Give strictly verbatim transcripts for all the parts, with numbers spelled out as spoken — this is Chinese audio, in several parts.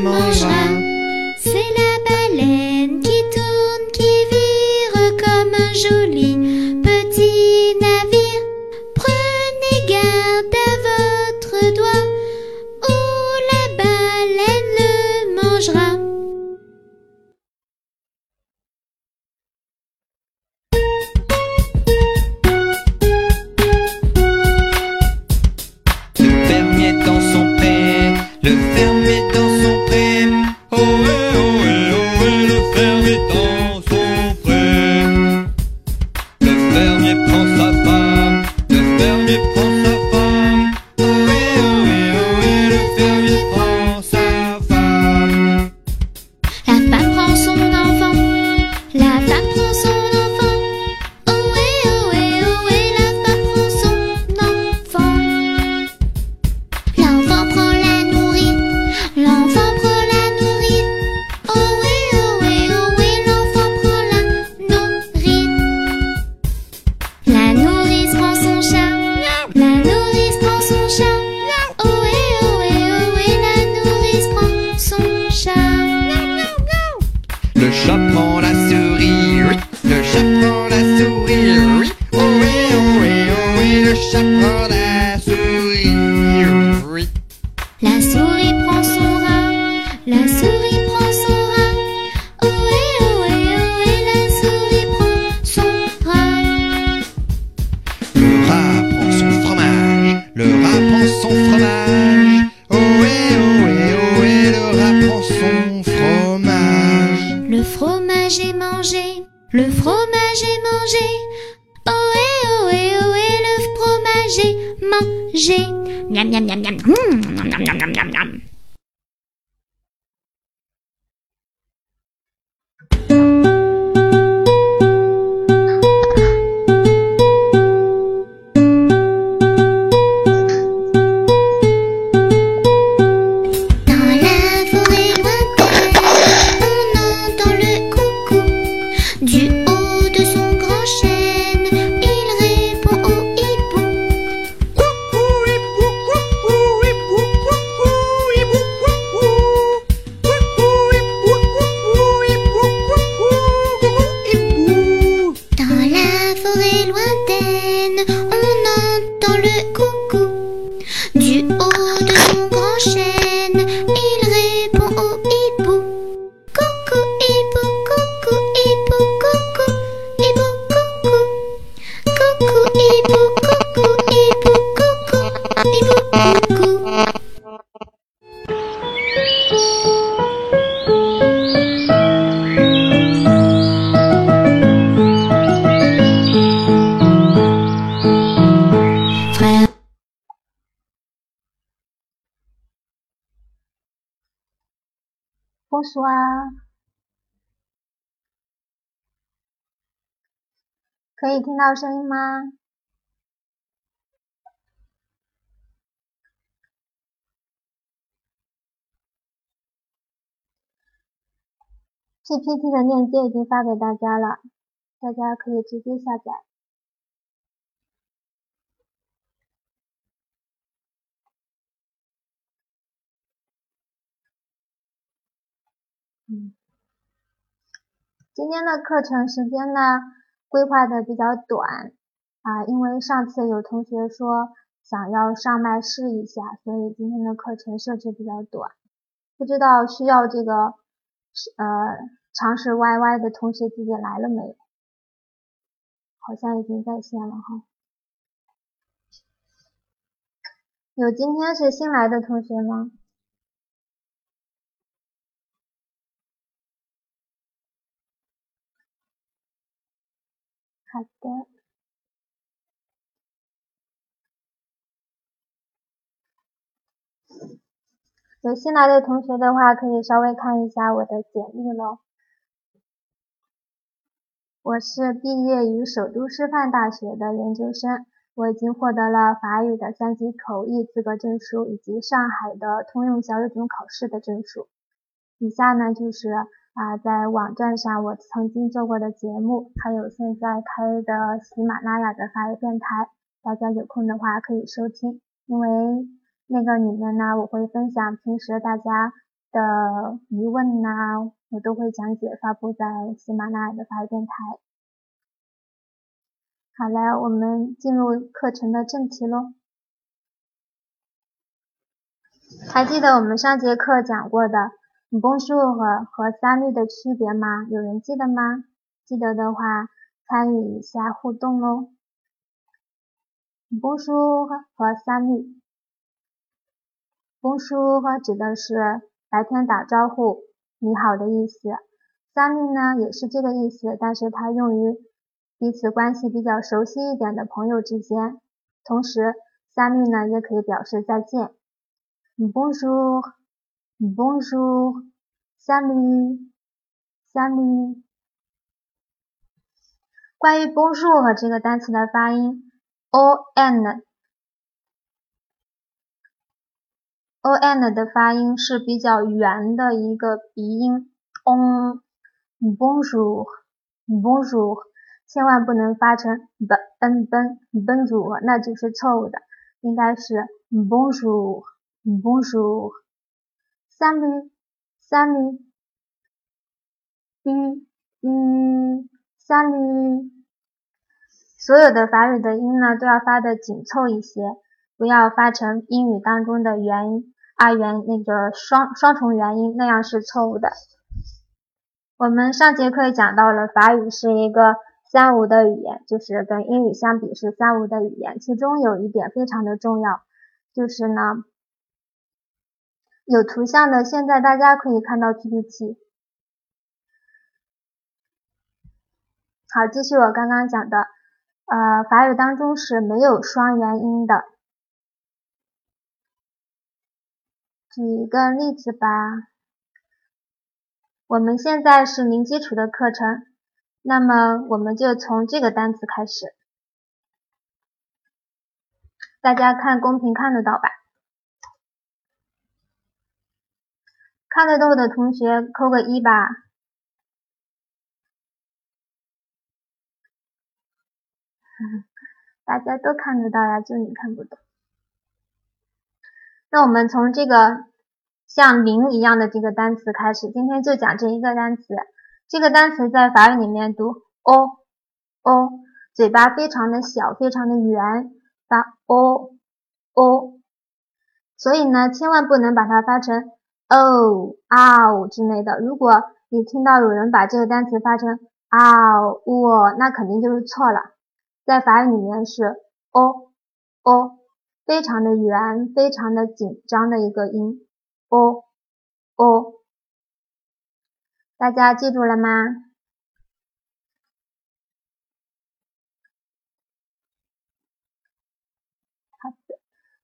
mangera. C'est la baleine qui tourne, qui vire comme un joli petit navire. Prenez garde à votre doigt, ou la baleine le mangera. Le fermier dans son pré, le fermier dans son pré. Ohé, ohé, ohé, le fermier dans son pré. Le fermier prend sa femme, le fermier prend sa femme. Ohé, ohé, ohé, le fermier prend sa femme. La femme prend son enfant, la femme prend son enfant. Ohé, ohé, ohé, la femme prend son enfant. L'enfant prend la nourrice, l'enfant prend la nourrice. Ohé, ohé, ohé, l'enfant prend la nourrice. La nourrice prend son chat, la nourrice prend son chat. Ohé, ohé, ohé, la nourrice prend son chat. Le chat prend la souris, oui. Le chat prend la souris, oui. Ohé, ohé, ohé, le chat prend la souris, oui. La souris prend son rat, la souris prend son rat. Ohé, ohé, ohé, la souris prend son rat. Le rat prend son fromage, le rat prend son fromage. Ohé, ohé, ohé, le rat prend son fromage. Le fromage est mangé, le fromage est mangé. Ohé, ohé, ohé, le fromage est mangé. Miam, miam, miam, miam. Mmh, miam, miam, miam, miam, miam, miam. Dans la forêt lointaine, on entend le coucou. Du haut de son grand chêne, il répond au hibou. Coucou, hibou, coucou, hibou, coucou, hibou, coucou. Coucou, hibou, coucou, hibou, coucou, coucou, hibou. Dans la forêt lointaine, on entend le coucou. Du haut de son grand chêne, il répond au hibou. Coucou, hibou, coucou, hibou, coucou, hibou, coucou. Coucou, hibou, coucou, hibou, coucou, hibou, coucou. Frère. Bonsoir，可以听到声音吗？P P T 的链接已经发给大家了，大家可以直接下载。嗯，今天的课程时间呢，规划的比较短啊，因为上次有同学说想要上麦试一下，所以今天的课程设置比较短。不知道需要这个呃尝试 Y Y 的同学自己来了没有？好像已经在线了哈。有今天是新来的同学吗？好的。有新来的同学的话，可以稍微看一下我的简历咯。我是毕业于首都师范大学的研究生，我已经获得了法语的三级口译资格证书，以及上海的通用小语种考试的证书。以下呢就是啊，在网站上我曾经做过的节目，还有现在开的喜马拉雅的法语电台，大家有空的话可以收听。因为那个里面呢，我会分享平时大家的疑问呐、啊，我都会讲解发布在喜马拉雅的法语电台。好了，我们进入课程的正题咯。还记得我们上节课讲过的 Bonjour 和 Salut 的区别吗？有人记得吗？记得的话，参与一下互动咯。Bonjour 和 Salut。Bonjour 指的是白天打招呼，你好的意思。Salut 呢也是这个意思，但是它用于彼此关系比较熟悉一点的朋友之间。同时 Salut 呢也可以表示再见。Bonjour, bonjour, salut, salut。关于 bonjour 和这个单词的发音 ，on on 的发音是比较圆的一个鼻音 on bonjour bonjour， 千万不能发成 b n ben bonjour， 那就是错误的，应该是 bonjour bonjour salut salut u u salut。 所有的法语的音呢都要发的紧凑一些，不要发成英语当中的元音啊元那个双双重元音，那样是错误的。我们上节课讲到了法语是一个三无的语言，就是跟英语相比是三无的语言，其中有一点非常的重要，就是呢有图像的，现在大家可以看到 P P T。 好，继续我刚刚讲的呃，法语当中是没有双元音的。举一个例子吧，我们现在是零基础的课程，那么我们就从这个单词开始。大家看公屏看得到吧？看得到的同学扣个一吧。大家都看得到呀，就你看不懂。那我们从这个像零一样的这个单词开始，今天就讲这一个单词。这个单词在法语里面读 o o， 嘴巴非常的小，非常的圆，发 o o， 所以呢千万不能把它发成 o ow 之类的。如果你听到有人把这个单词发成 ow o， 那肯定就是错了。在法语里面是 o o， 非常的圆，非常的紧张的一个音 o o， 大家记住了吗？好的。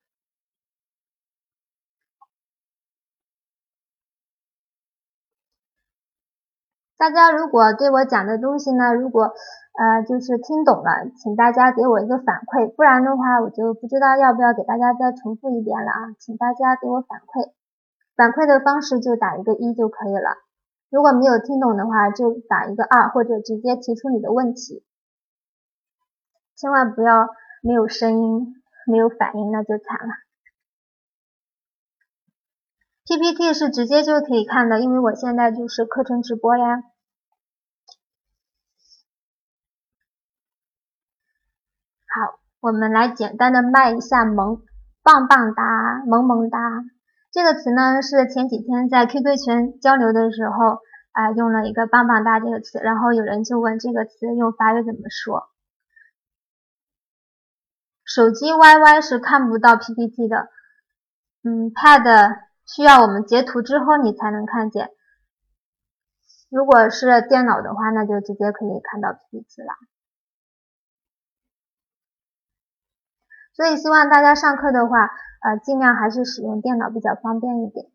大家如果对我讲的东西呢，如果呃就是听懂了，请大家给我一个反馈，不然的话我就不知道要不要给大家再重复一遍了啊，请大家给我反馈。反馈的方式就打一个一就可以了，如果没有听懂的话就打一个二，或者直接提出你的问题。千万不要没有声音没有反应，那就惨了。P P T 是直接就可以看的，因为我现在就是课程直播呀。好，我们来简单的卖一下萌，棒棒哒，萌萌哒。这个词呢是前几天在 Q Q 群交流的时候啊、呃、用了一个棒棒哒这个词，然后有人就问这个词用法语怎么说。手机 Y Y 是看不到 P P T 的，嗯 Pad 需要我们截图之后你才能看见。如果是电脑的话，那就直接可以看到 P P T 了。所以希望大家上课的话，呃，尽量还是使用电脑比较方便一点。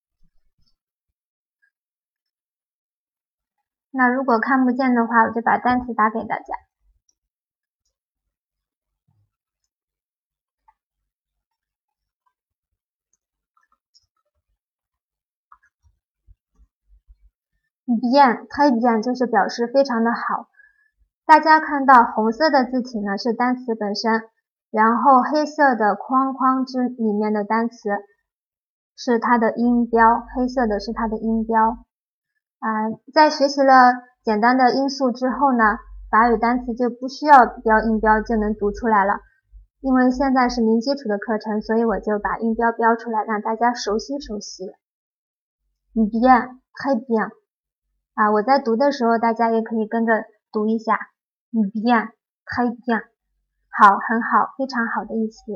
那如果看不见的话，我就把单词打给大家。bien， très bien 就是表示非常的好。大家看到红色的字体呢是单词本身，然后黑色的框框之里面的单词是它的音标，黑色的是它的音标。啊、呃，在学习了简单的音素之后呢，法语单词就不需要标音标就能读出来了。因为现在是零基础的课程，所以我就把音标标出来，让大家熟悉熟悉。bien， très bien。啊，我在读的时候，大家也可以跟着读一下。bien， très bien。好，很好，非常好的意思。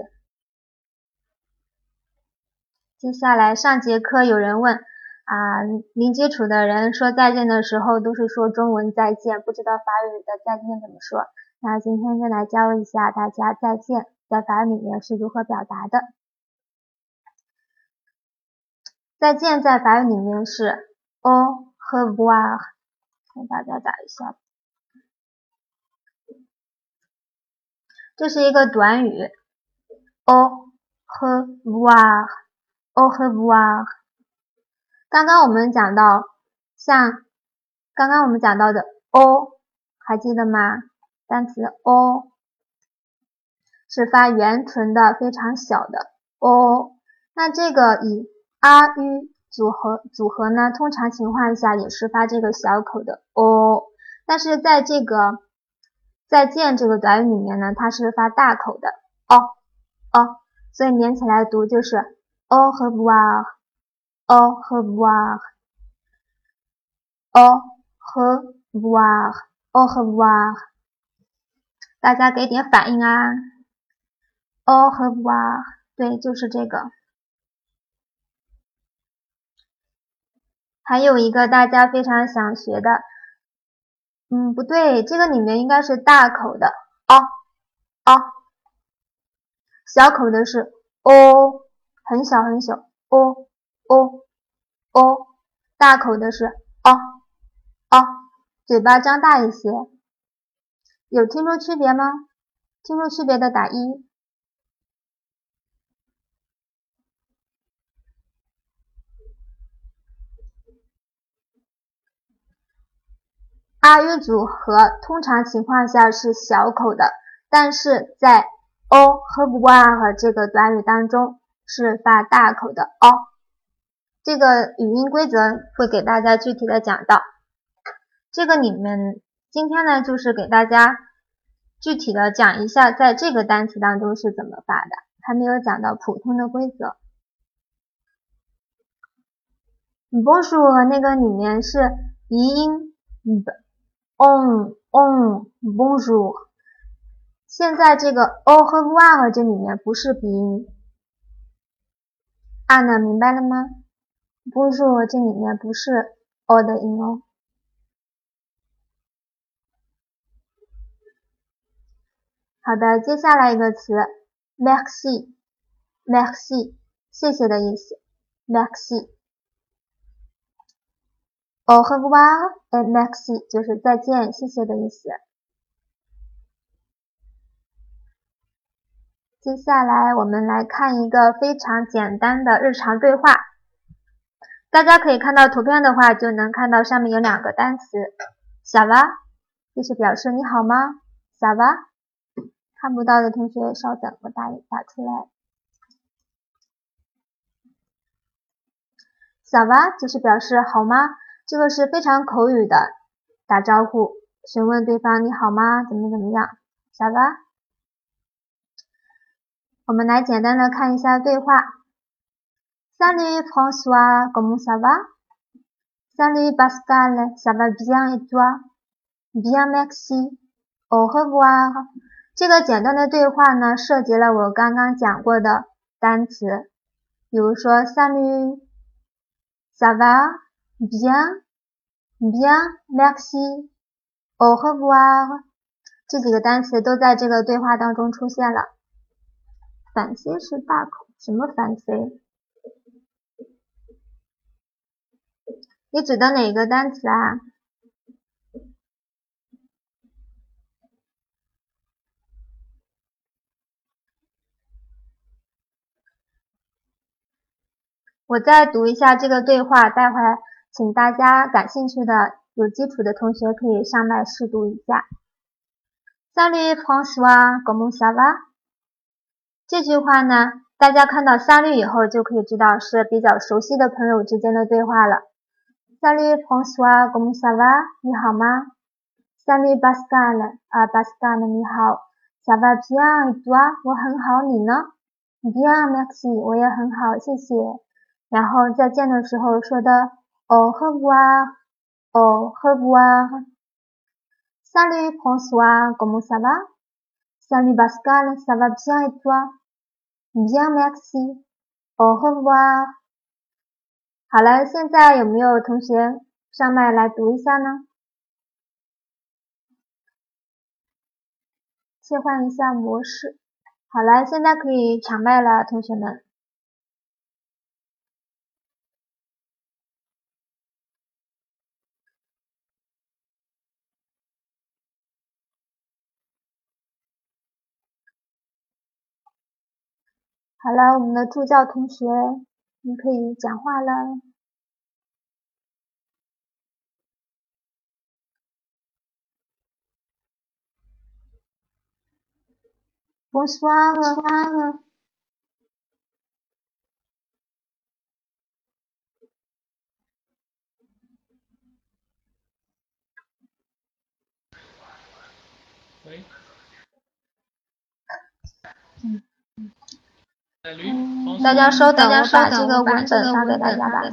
接下来上节课有人问啊，零基础的人说再见的时候都是说中文再见，不知道法语的再见怎么说。那今天就来教一下大家再见在法语里面是如何表达的。再见在法语里面是 au revoir， 给大家打一下。这是一个短语 au revoir， au revoir。刚刚我们讲到，像刚刚我们讲到的 au， 还记得吗？单词 au 是发元唇的，非常小的 au。那这个以 ru 组合组合呢，通常情况下也是发这个小口的 au， 但是在这个再见这个短语里面呢，它是发大口的 o o， 所以连起来读就是 au revoir au revoir au revoir au revoir。 大家给点反应啊 au revoir， 对，就是这个。还有一个大家非常想学的，嗯，不对，这个里面应该是大口的 o o， 小口的是 o， 很小很小 o o o， 大口的是 o o， 嘴巴张大一些。有听出区别吗？听出区别的打一。ru 组合通常情况下是小口的，但是在 au revoir 这个短语当中是发大口的 o。 这个语音规则会给大家具体的讲到。这个里面今天呢就是给大家具体的讲一下在这个单词当中是怎么发的，还没有讲到普通的规则。Bonjour 那个里面是鼻音 on on bonjour， 现在这个 au revoir 这里面不是鼻音。啊呢，明白了吗？ Bonjour 这里面不是 o 的音哦。好的，接下来一个词 merci merci 谢谢的意思 merci au revoir et merci 就是再见谢谢的意思。接下来我们来看一个非常简单的日常对话，大家可以看到图片的话就能看到上面有两个单词 ça va 这是表示你好吗 ça va， 看不到的同学稍等，我打打出来。ça va 就是表示好吗，这个是非常口语的打招呼，询问对方你好吗，怎么怎么样 ça va。 我们来简单的看一下对话。 Salut François, comment ça va? Salut Pascal, ça va bien et toi? Bien merci, au revoir。 这个简单的对话呢，涉及了我刚刚讲过的单词，比如说 Salut, ça va, bien, bien, merci, au revoir， 这几个单词都在这个对话当中出现了。反 C 是大口，什么反 C？ 你指的哪个单词啊？我再读一下这个对话，待会儿请大家感兴趣的有基础的同学可以上麦试读一下。Salut François, comment ça va？ 这句话呢大家看到三律以后就可以知道是比较熟悉的朋友之间的对话了。Salut François, comment ça va? 你好吗 ？Salut Pascal, 啊 Pascal 你好 ，Ça va bien et toi? 我很好，你呢 ？Bien, merci， 我也很好，谢谢。然后再见的时候说的 Au revoir, au revoir。Salut François, comment ça va? Salut Pascal, ça va bien et toi? Bien, merci. Au revoir. 好了，现在有没有同学上麦来读一下呢？切换一下模式。好了，现在可以抢麦了，同学们。好了，我们的助教同学，你可以讲话了。Bonsoir。 喂。 嗯。 嗯， 大家稍等，我把这个文本发给大家吧。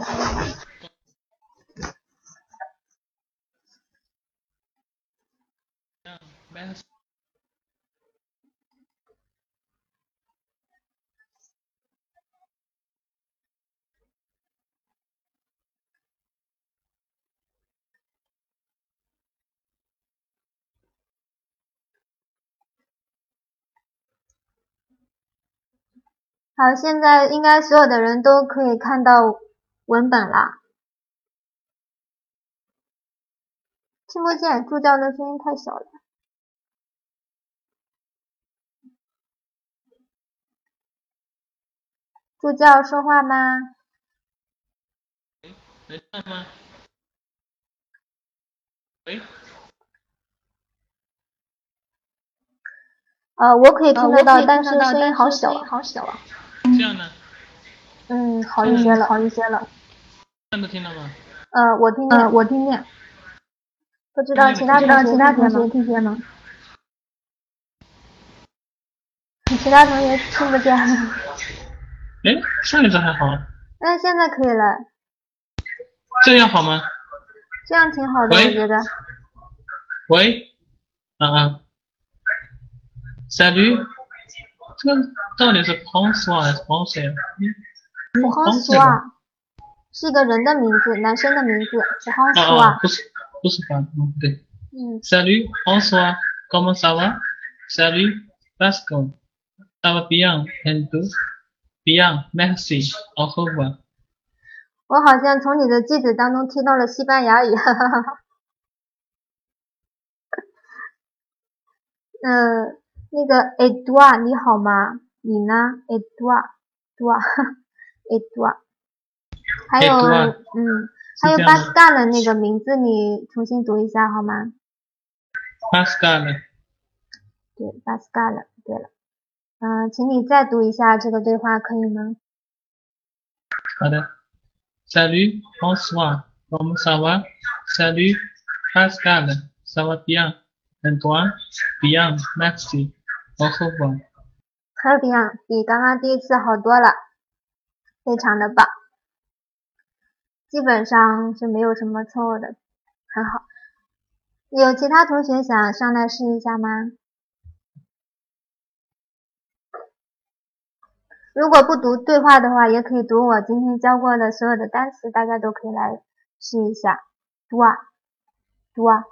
好，现在应该所有的人都可以看到文本了。听不见，助教的声音太小了。助教说话吗？ 能看吗？喂。 呃，我可以听得到，呃、但是声音好小， 好小啊。 这样呢？ 嗯，好一些了， 好一些了。 这样都听到吗？ 呃，我听见， 呃，我听见。 不知道其他同学其他同学听听见吗？ 你其他同学听不见吗？ 哎，上一次还好。 哎，现在可以了。 这样好吗？ 这样挺好的，我觉得。 喂。啊啊。Salut。这个到底是 François 还是 François？François 是一个人的名字，男生的名字。François。 啊啊，不是不是吧？嗯，对。 嗯。 Salut François, comment ça va? Salut Pascal, ça va bien et toi? Bien, merci. Au revoir. 我好像从你的句子当中听到了西班牙语，哈哈哈。嗯，那个 Edouard 你好吗？你呢 ？Edouard，Edouard，Edouard。还有，嗯，还有 Pascal 的那个名字，你重新读一下好吗 ？Pascal。 对 ，Pascal。对了，嗯、呃，请你再读一下这个对话，可以吗？ 好的。Salut François, comment ça va? Salut Pascal, ça va bien et toi? Bien, merci. Au revoir. 很 bien， 比刚刚第一次好多了，非常的棒，基本上是没有什么错误的，很好。有其他同学想上来试一下吗？如果不读对话的话，也可以读我今天教过的所有的单词，大家都可以来试一下。读啊，读啊。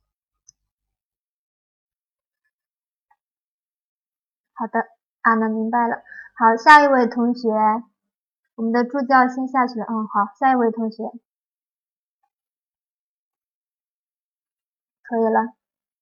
好的，啊，那明白了。好，下一位同学，我们的助教先下去了。嗯，好，下一位同学，可以了。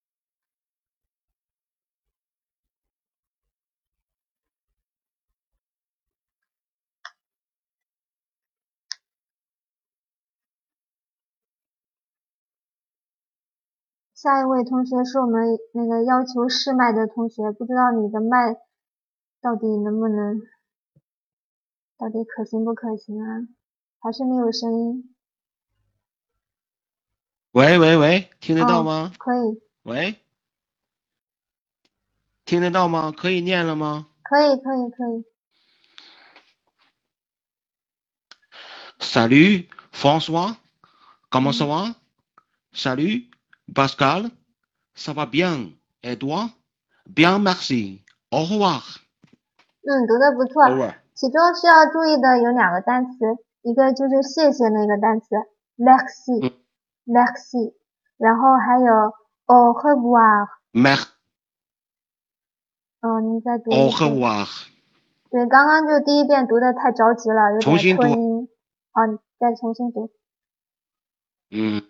下一位同学是我们那个要求试麦的同学，不知道你的麦到底能不能到底可行不可行啊？还是没有声音？ 喂喂喂，听得到哦， 吗？ 可以， 喂，听得到吗？可以念了吗可以，可以，可以。 ？Salut François, comment ça 嗯 va? Salut Pascal, ça va bien? Et toi? Bien, merci. Au revoir. 嗯，读的不错。 Over. 其中需要注意的有两个单词，一个就是谢谢那个单词 merci 嗯 merci， 然后还有 au revoir。 Mer. 嗯，你再读 Au 一次。 revoir. 对，刚刚就第一遍读的太着急了，有点重新读吞音。好，你再重新读。 嗯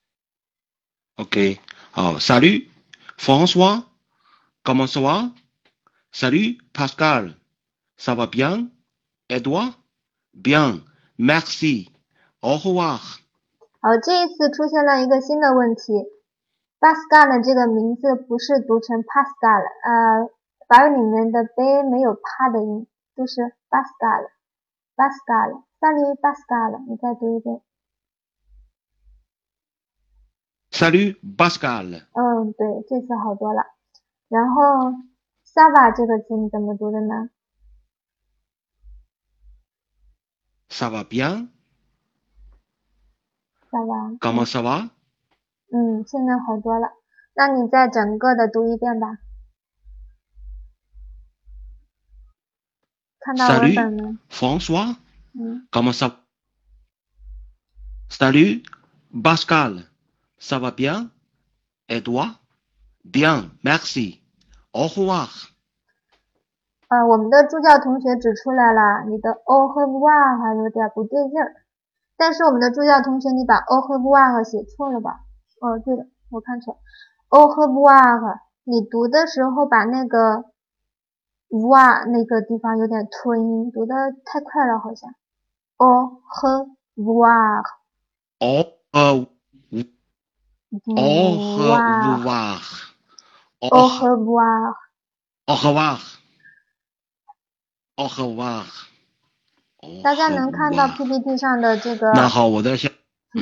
OK. 好 Salut François, comment ça va? Salut Pascal, ça va bien? Et toi? Bien, merci. Au revoir. 好，这一次出现了一个新的问题 ，Pascal 这个名字不是读成 Pascal， 呃，法语里面的 b 没有啪的音，都是 Pascal，Pascal，Salut Pascal， 你再读一遍。 Salut Pascal. 嗯，对，这次好多了。然后 Sava 这个字你怎么读的呢？ Ça va bien? Sava， Comment ça va? 嗯，现在好多了。那你再整个的读一遍吧。看到文 Salut 本没？ François, 嗯， comment ça va? Salut Pascal, ça va bien? Et toi? Bien, merci. Au revoir. 呃，我们的助教同学指出来了，你的 au revoir 还有点不对劲儿。但是我们的助教同学，你把 au revoir 写错了吧？哦，对了，我看错了 au revoir， 你读的时候把那个 voir 那个地方有点吞音，读的太快了好像。au revoir， Au revoir. Au voir， revoir. au revoir。 Au revoir. Au revoir. Au 大家能看到 revoir. P P T 上的这个那好，我在下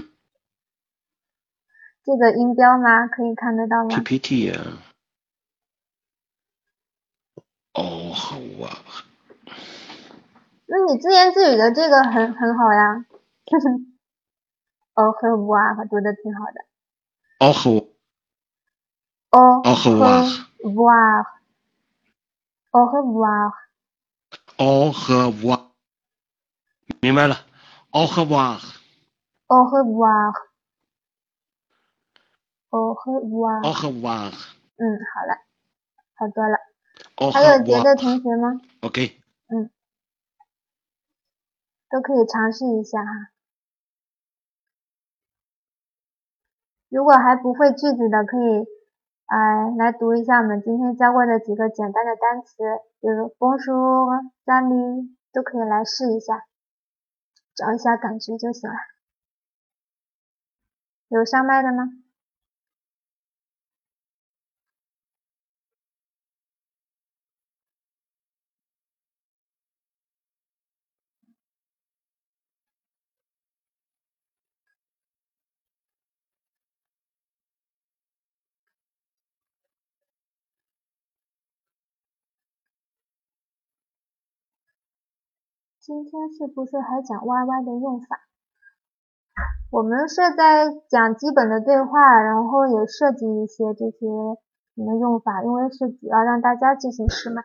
这个音标吗？可以看得到吗？ P P T 啊。Au revoir. 那你自言自语的这个很很好呀。au revoir 读的挺好的。 Au revoir. au Au revoir. revoir au revoir Au revoir. 明白了。Au revoir. au revoir au revoir Au revoir. 嗯，好了，好多了。 Au 还有别的 revoir. 同学吗？ OK。 嗯，都可以尝试一下哈。如果还不会句子的，可以呃来读一下我们今天教过的几个简单的单词，比如 bonjour、salut 都可以来试一下，找一下感觉就行了。有上麦的吗？今天是不是还讲 Y Y 的用法？我们是在讲基本的对话，然后也涉及一些这些什么用法，因为是主要让大家进行试麦。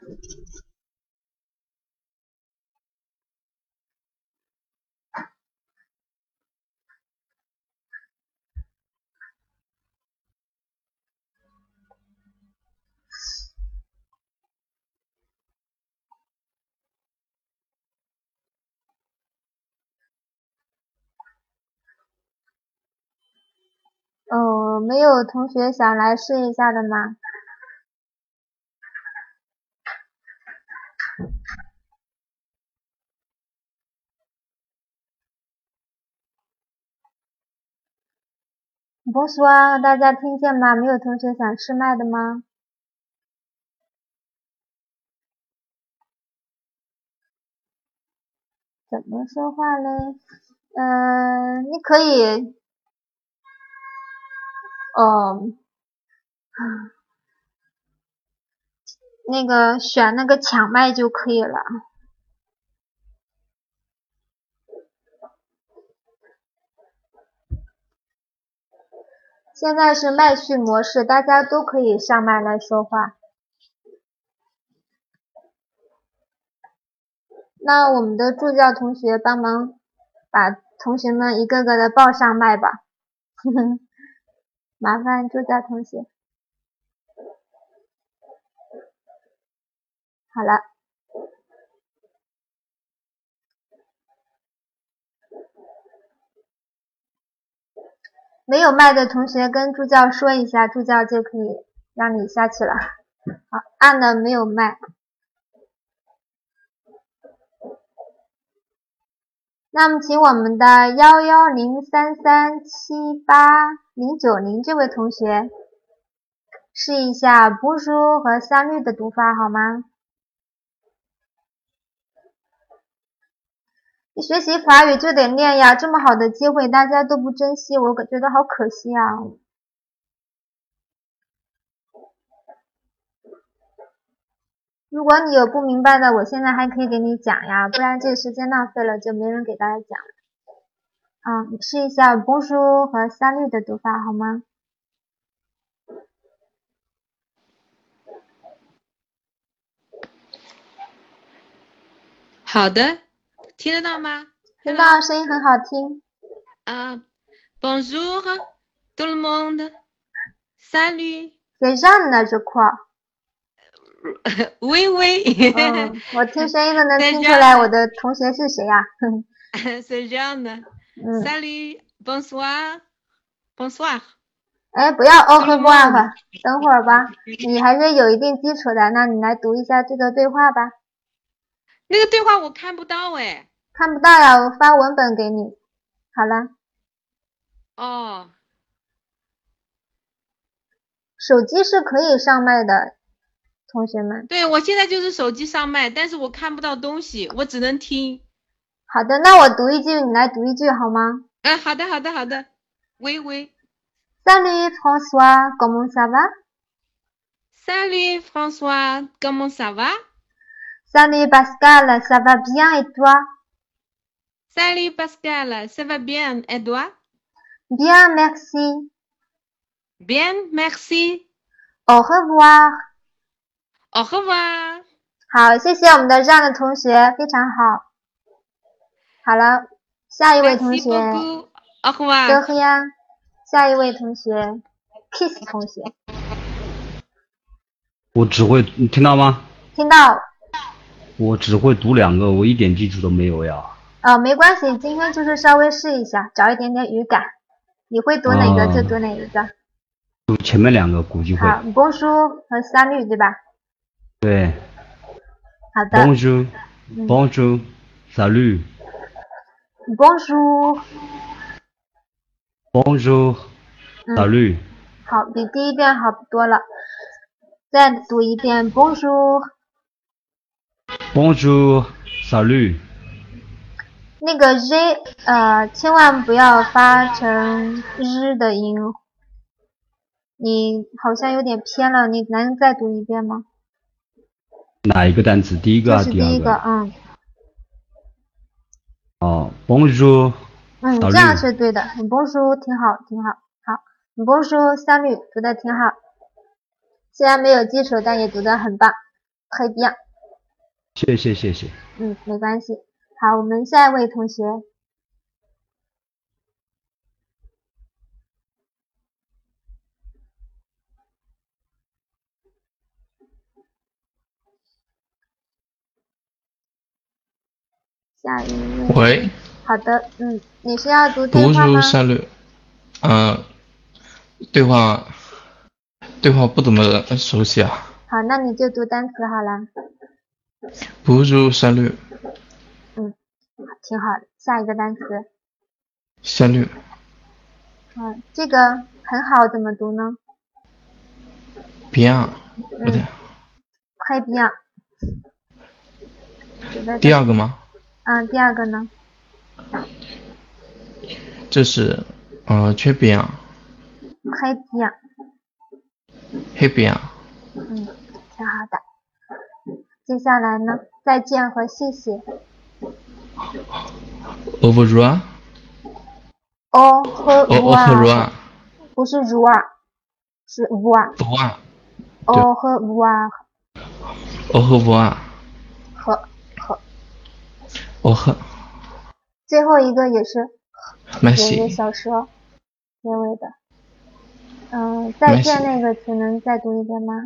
呃，没有同学想来试一下的吗？不说啊，大家听见吗？没有同学想试麦的吗？ 怎么说话嘞？呃，你可以，哦，那个选那个抢麦就可以了。现在是麦序模式，大家都可以上麦来说话。那我们的助教同学帮忙把同学们一个个的报上麦吧。麻烦助教同学。好了。没有麦的同学跟助教说一下，助教就可以让你下去了。好，按了没有麦。那么请我们的幺幺零三三七八零九零这位同学试一下bonjour和salut的读法好吗？你学习法语就得练呀，这么好的机会大家都不珍惜，我觉得好可惜啊。如果你有不明白的，我现在还可以给你讲呀，不然这个时间浪费了，就没人给大家讲了。啊，你试一下bonjour和salut的读法好吗？ 好的，听得到吗？ 听到，声音很好听。 啊、uh, ，Bonjour tout le monde, salut。 C'est Jeanne呢，这块。 喂喂。 嗯，我听声音都能听出来我的同学是谁呀、啊。 C'est Jeanne。 嗯。 Salut, bonsoir, bonsoir。 哎，不要 au revoir， 等会儿吧，你还是有一定基础的，那你来读一下这个对话吧。 那个对话我看不到哎。 看不到呀，我发文本给你。好了。 哦。 手机是可以上麦的，同学们。 对，我现在就是手机上麦，但是我看不到东西，我只能听。 好的，那我读一句，你来读一句好吗？ 哎，好的，好的，好的。喂喂。 Salut François, comment ça va? Salut François, comment ça va? Salut Pascal, ça va bien et toi? Salut Pascal, ça va bien et toi? Bien, merci. Bien, merci. Au revoir. Au revoir. 好，谢谢我们的让的同学，非常好。好了，下一位同学。 Merci beaucoup. Au revoir. 德赫呀，下一位同学 ，Kiss 同学。 我只会，你听到吗？ 听到。 我只会读两个，我一点基础都没有呀。 哦，没关系，今天就是稍微试一下，找一点点语感。你会读哪个就读哪一个。 读前面两个估计会。 好 ，bonjour 和 salut 对吧？ 对。 好的。 bonjour, bonjour, salut。 bonjour。 bonjour, salut。 好，比第一遍好多了。再读一遍 bonjour。 bonjour, salut。 那个 z 呃，千万不要发成日的音，你好像有点偏了，你能再读一遍吗？ 哪一个单词？第一个还是第二个？ 第一个，嗯。 哦 ，bonjour。 嗯，这样是对的。bonjour 挺好，挺好。好 ，bonjour salut 读的挺好，虽然没有基础，但也读得很棒，très bien。 谢谢谢谢。 嗯，没关系。好，我们下一位同学。下一位。 喂。 好的，嗯，你是要读对话吗？ 读书下略，嗯，对话，对话不怎么熟悉啊。 好，那你就读单词好了。 Bonjour, salut。 嗯，挺好的。下一个单词。 salut。 嗯，这个很好，怎么读呢 ？bien， 不对。 très bien。 第二个吗？ 嗯，第二个呢？ 这是呃缺边啊， 黑边啊， 黑边啊， 嗯，挺好的。接下来呢，再见和谢谢。 au revoir， 哦和 au au revoir， 不是 revoir，是 voir。 revoir，对哦和 voir au revoir， 和和。 au re， 最后一个也是有一个 merci， 小舌结尾的。嗯，再见 merci， 那个词能再读一遍吗？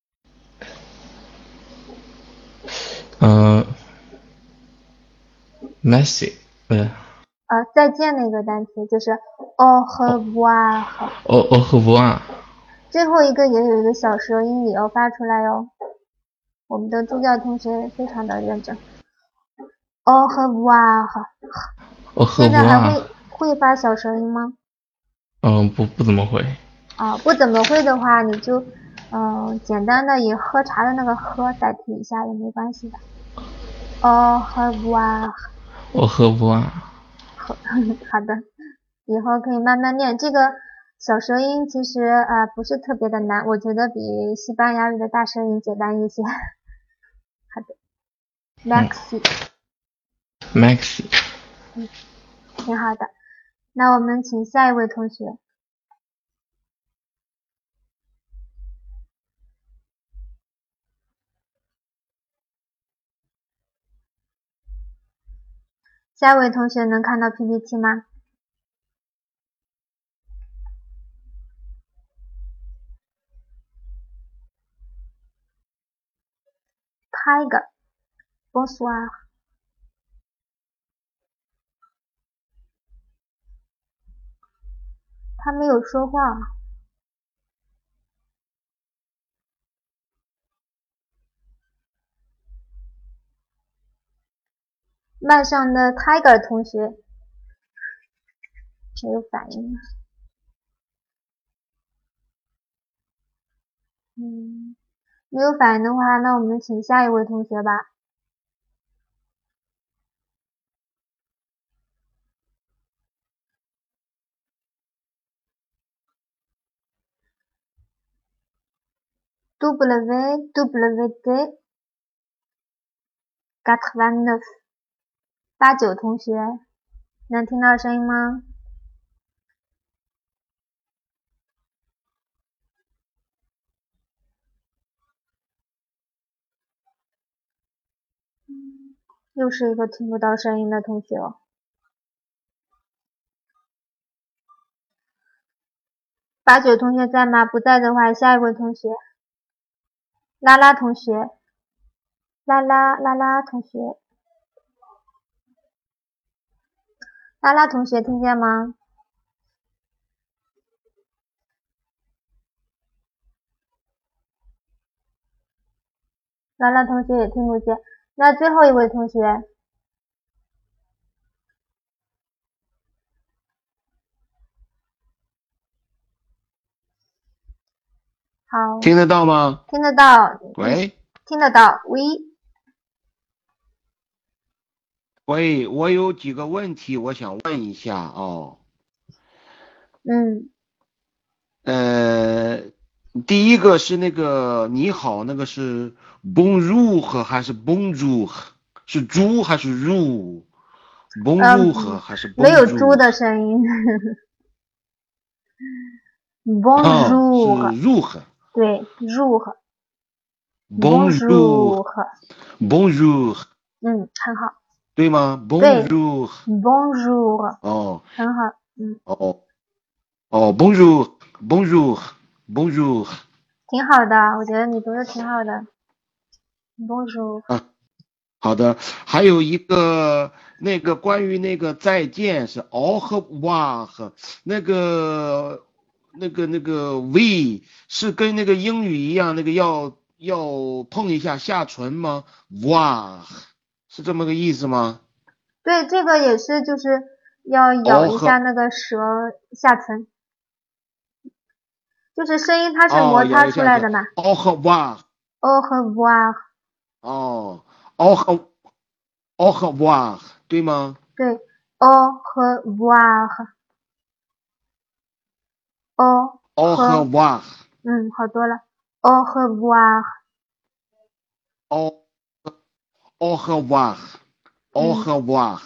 嗯、呃、，merci，呃呃，再见那个单词就是 au revoir。 au au revoir， 最后一个也有一个小舌音，也要发出来哟。我们的助教同学非常的认真。au revoir。 au 现在还 revoir， 会会发小舌音吗？ 嗯，不不怎么会。 啊，不怎么会的话，你就嗯、呃、简单的以喝茶的那个喝代替一下也没关系的。au revoir。 au revoir， 好的，以后可以慢慢练。这个小舌音其实啊、呃、不是特别的难，我觉得比西班牙语的大舌音简单一些。好的 ，Maxi， maxi， 嗯，挺好的。那我们请下一位同学。下一位同学能看到 P P T 吗？Tiger， Bonsoir。他没有说话。麦上的 Tiger 同学没有反应。嗯，没有反应的话，那我们请下一位同学吧。W W D 八十九，八九同学能听到声音吗？又是一个听不到声音的同学哦。八九同学在吗？不在的话，下一位同学，拉拉同学，拉拉拉拉同学，拉拉同学听见吗？拉拉同学也听不见。那最后一位同学，好， 听得到吗？ 听得到。 喂， 听得到。喂， 喂，我有几个问题我想问一下哦。 嗯， 呃，第一个是那个你好，那个是 bonjour 还是 bonjour？是猪还是入？bonjour 还是 bonjour？ 没有猪的声音。Bonjour，、 啊、是入和。 对，入和。 Bonjour，Bonjour， 嗯，很好。 对吗对 ？Bonjour， Bonjour， 哦， 很好，嗯， 哦，哦，Bonjour，Bonjour，Bonjour， 挺好的，我觉得你读的挺好的。Bonjour， 啊，好的，还有一个那个关于那个再见是 au revoir，那个那个那个 we 是跟那个英语一样，那个要要碰一下下唇吗 ？voir 是这么个意思吗？ 对，这个也是，就是要咬一下那个舌下唇，就是声音它是摩擦出来的嘛。 au revoir， au revoir， 哦，au revoir。 au revoir，对吗？ 对 au revoir，au au revoir， 嗯，好多了 au revoir， au au revoir，au 嗯 revoir，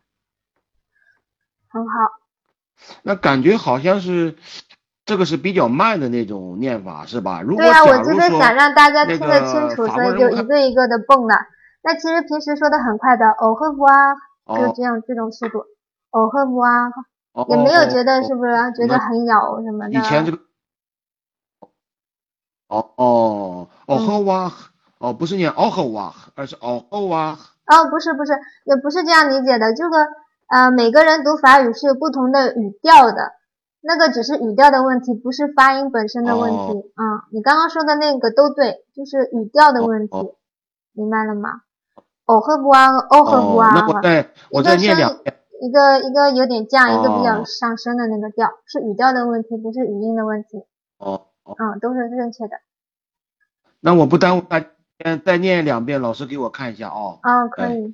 很好。 那感觉好像是这个是比较慢的那种念法，是吧？如对呀、我果假如就是想说让大家那听得清个楚，所以就法国人我看一个一个的蹦的。那其实平时说的很快的 au revoir， 就哦这样这种速度 au revoir， 哦也没有觉得哦是不是觉得那很咬什么的。 以前这个哦哦哦嗯， 呵哇哦不是念哦呵哇，而是哦哦哇哦，不是不是，也不是这样理解的。这个呃，每个人读法语是有不同的语调的，那个只是语调的问题，不是发音本身的问题。 哦嗯，你刚刚说的那个都对，就是语调的哦问题， 哦明白了吗？哦呵不啊，哦呵不哦，那我啊， 再我再一个升念两遍一个一个有点降，一个比较哦上升的那个调，是语调的问题，不是语音的问题。 哦哦， 嗯，都是正确的。 那我不耽误大家，再念两遍，老师给我看一下哦。 嗯，可哎以。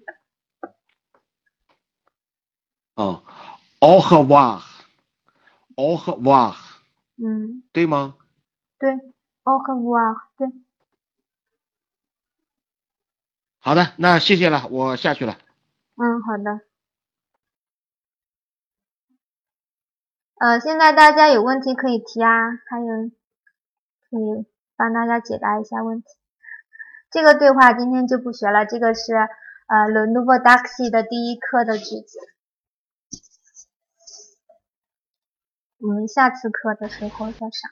哦，au revoir，au revoir， 嗯， 对吗？ 对，哦呵不啊，对。 好的，那谢谢了，我下去了。 嗯，好的。呃，现在大家有问题可以提啊，还有可以帮大家解答一下问题。这个对话今天就不学了，这个是呃 Le Nouveau Taxi 的第一课的句子，我们下次课的时候再上。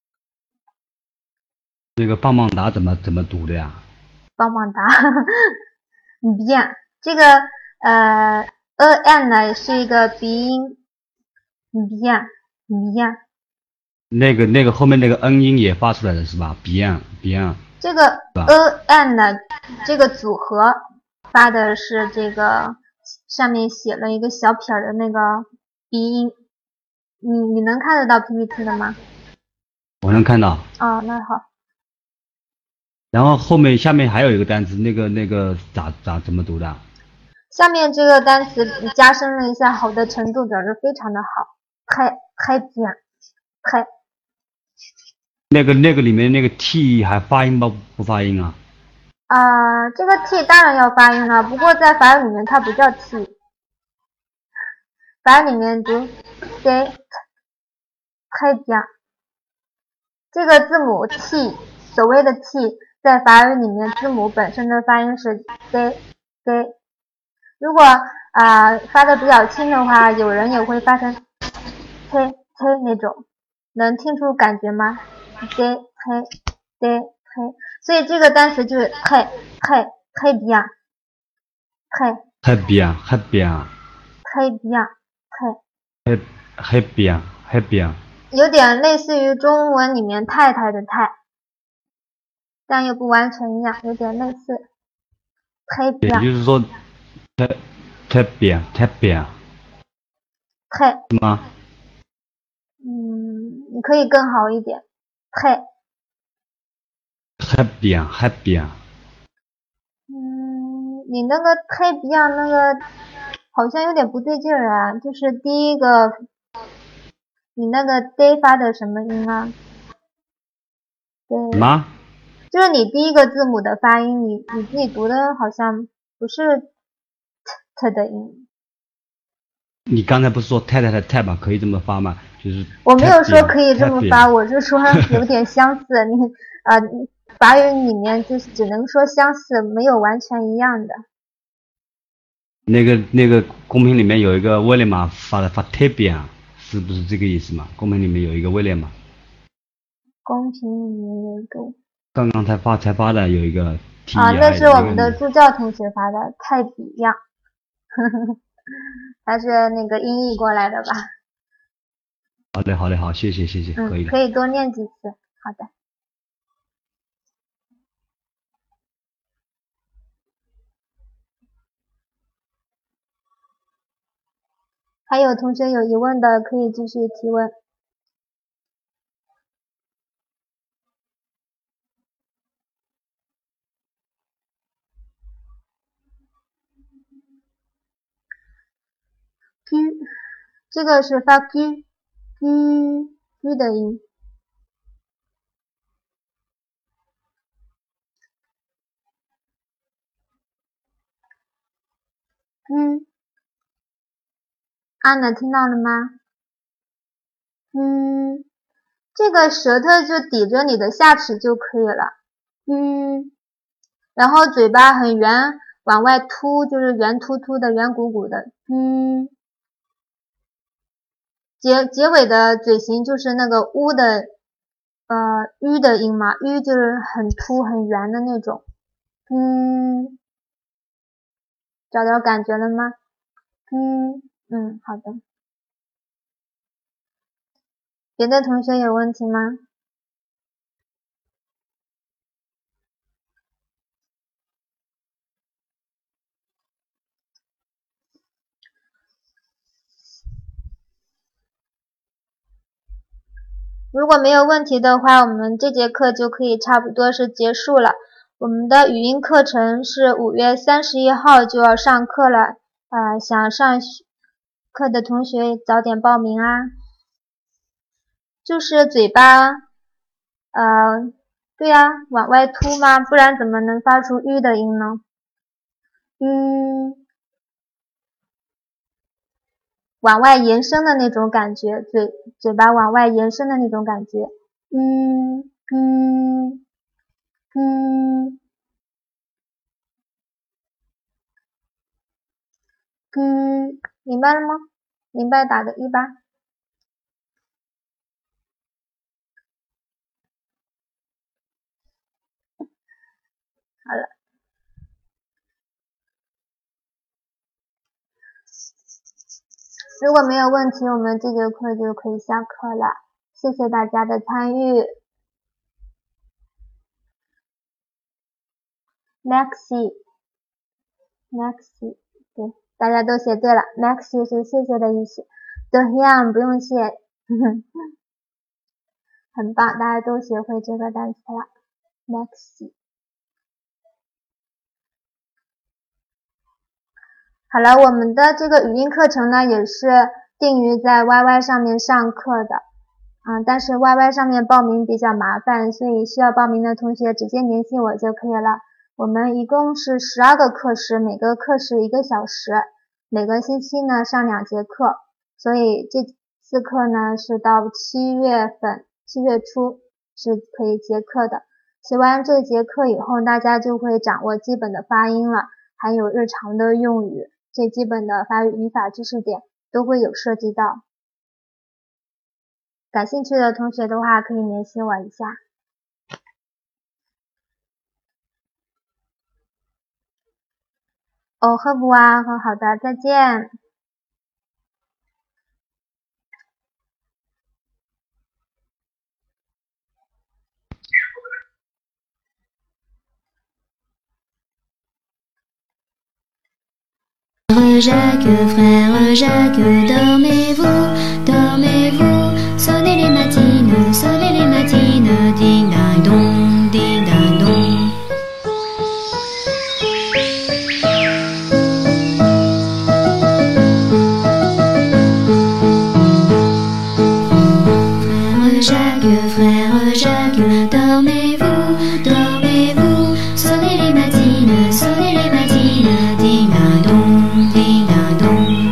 这个棒棒哒怎么怎么读的呀？ 棒棒哒，bien， 这个呃 en 呢是一个鼻音 ，bien bien， 那个那个后面那个 n 音也发出来了是吧 ？Bien bien， 这个 en 呢这个组合发的是这个上面写了一个小撇的那个鼻音，你你能看得到 P P T 的吗？ 我能看到。 哦，那好。 然后后面下面还有一个单词，那个那个咋咋怎么读的？ 下面这个单词加深了一下好的程度，表示非常的好，太太bien，太。 那个那个里面那个 t 还发音不不发音啊？ 啊、呃，这个 t 当然要发音了，不过在法语里面它不叫 t， 法语里面读 d， 太bien。这个字母 t， 所谓的 t， 在法语里面字母本身的发音是 d d。如果啊、呃、发的比较轻的话，有人也会发成 t t 那种，能听出感觉吗 d t d t， 所以这个单词就是太太太 bien， 太太 bien 太 bien 太 bien， 太太 bien 太 bien， 有点类似于中文里面太太的太，但又不完全一样，有点类似。太也 bien， 就是说太太 bien 太 bien 太， 是吗？ 嗯，你可以更好一点，太， 太 bien 太 bien， 嗯，你那个太 bien 那个好像有点不对劲儿啊，就是第一个，你那个 d 发的什么音啊？对， 什么？ 就是你第一个字母的发音，你你自己读的好像不是 t 的音。 你刚才不是说太太的太吗？可以这么发吗？就是我没有说可以这么发， 太 bien 我是说有点相似。你呃，法语里面就是只能说相似，没有完全一样的。 那个那个公屏里面有一个威廉嘛发的发太 bien，是不是这个意思嘛？公屏里面有一个威廉嘛， 公屏里面有一个刚刚才发才发的有一个 T 啊， I 那是我们那个的助教同学发的，太比样，他是那个音译过来的吧？ 好嘞好嘞好，谢谢谢谢，可以嗯， 的。 可以多念几次。好的。还有同学有疑问的可以继续提问。 这个是发 q q q 的音。嗯，安娜听到了吗？嗯，这个舌头就抵着你的下齿就可以了。嗯，然后嘴巴很圆，往外凸，就是圆凸凸的、圆鼓鼓的。嗯，结结尾的嘴型就是那个乌的，呃，u 的音嘛 ，u 就是很凸、很圆的那种。嗯，找到感觉了吗？嗯嗯，好的。别的同学有问题吗？如果没有问题的话，我们这节课就可以差不多是结束了。我们的语音课程是五月三十一号就要上课了，呃，想上课的同学早点报名啊。就是嘴巴，呃，对呀，往外凸嘛，不然怎么能发出 u 的音呢？嗯，往外延伸的那种感觉，嘴嘴巴往外延伸的那种感觉。嗯嗯嗯嗯，明白了吗？明白打个一吧。好了，如果没有问题，我们这节课就可以下课了。谢谢大家的参与。Maxi Maxi 对，大家都写对了。Maxi 是谢谢的意思。Dohyam 不用谢，呵呵，很棒，大家都学会这个单词了。Maxi。好了，我们的这个语音课程呢，也是定于在 Y Y 上面上课的，嗯，但是 Y Y 上面报名比较麻烦，所以需要报名的同学直接联系我就可以了。我们一共是十二个课时，每个课时一个小时，每个星期呢上两节课，所以这次课呢是到七月份，七月初是可以结课的。学完这节课以后，大家就会掌握基本的发音了，还有日常的用语，最基本的法语语法知识点都会有涉及到。感兴趣的同学的话，可以联系我一下。哦，赫布啊，很好的，再见。 Jacques, frère Jacques, dormez-vous, dormez-vous, sonnez les matines, sonnez les matines, ding ding dong, ding ding dong. Frère Jacques, frère Jacques, dormez-vous, dormez-vous, sonnez les matines, sonnez les matines, ding ding dong, ding ding dong.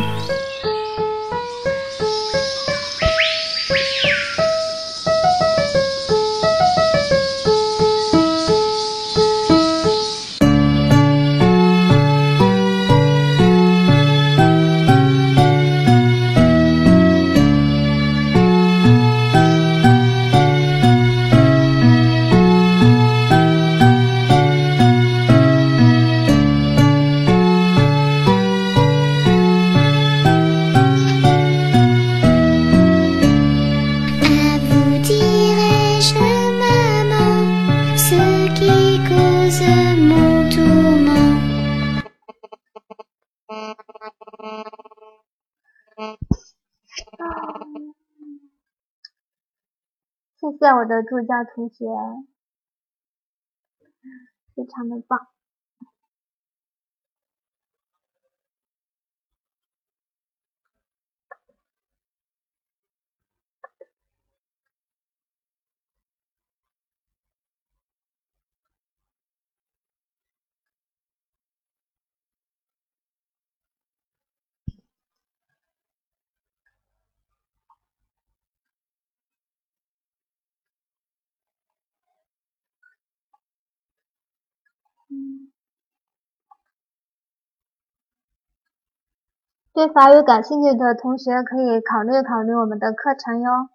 À vous dirai-je, maman, ce qui cause mon tourment. 谢谢我的助教同学，非常的棒。 嗯，对法语感兴趣的同学可以考虑考虑我们的课程哟。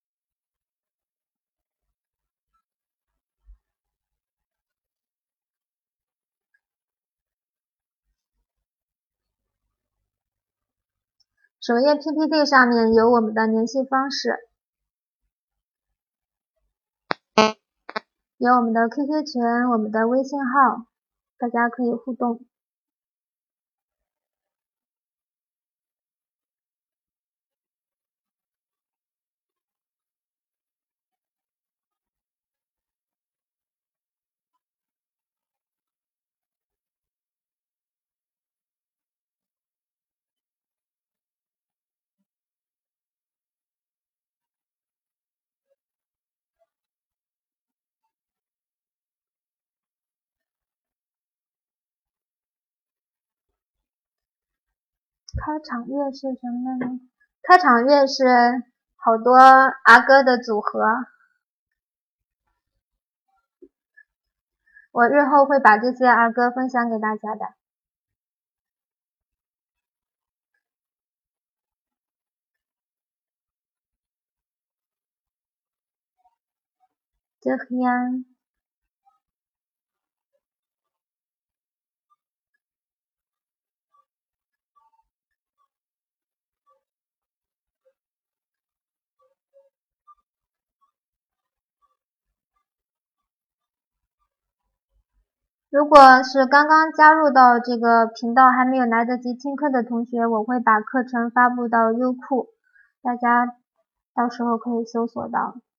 首页 P P T 上面有我们的联系方式，有我们的 Q Q 群，我们的微信号，大家可以互动。开场乐是什么呢？开场乐是好多儿歌的组合，我日后会把这些儿歌分享给大家的。De rien。如果是刚刚加入到这个频道还没有来得及听课的同学，我会把课程发布到优酷，大家到时候可以搜索到。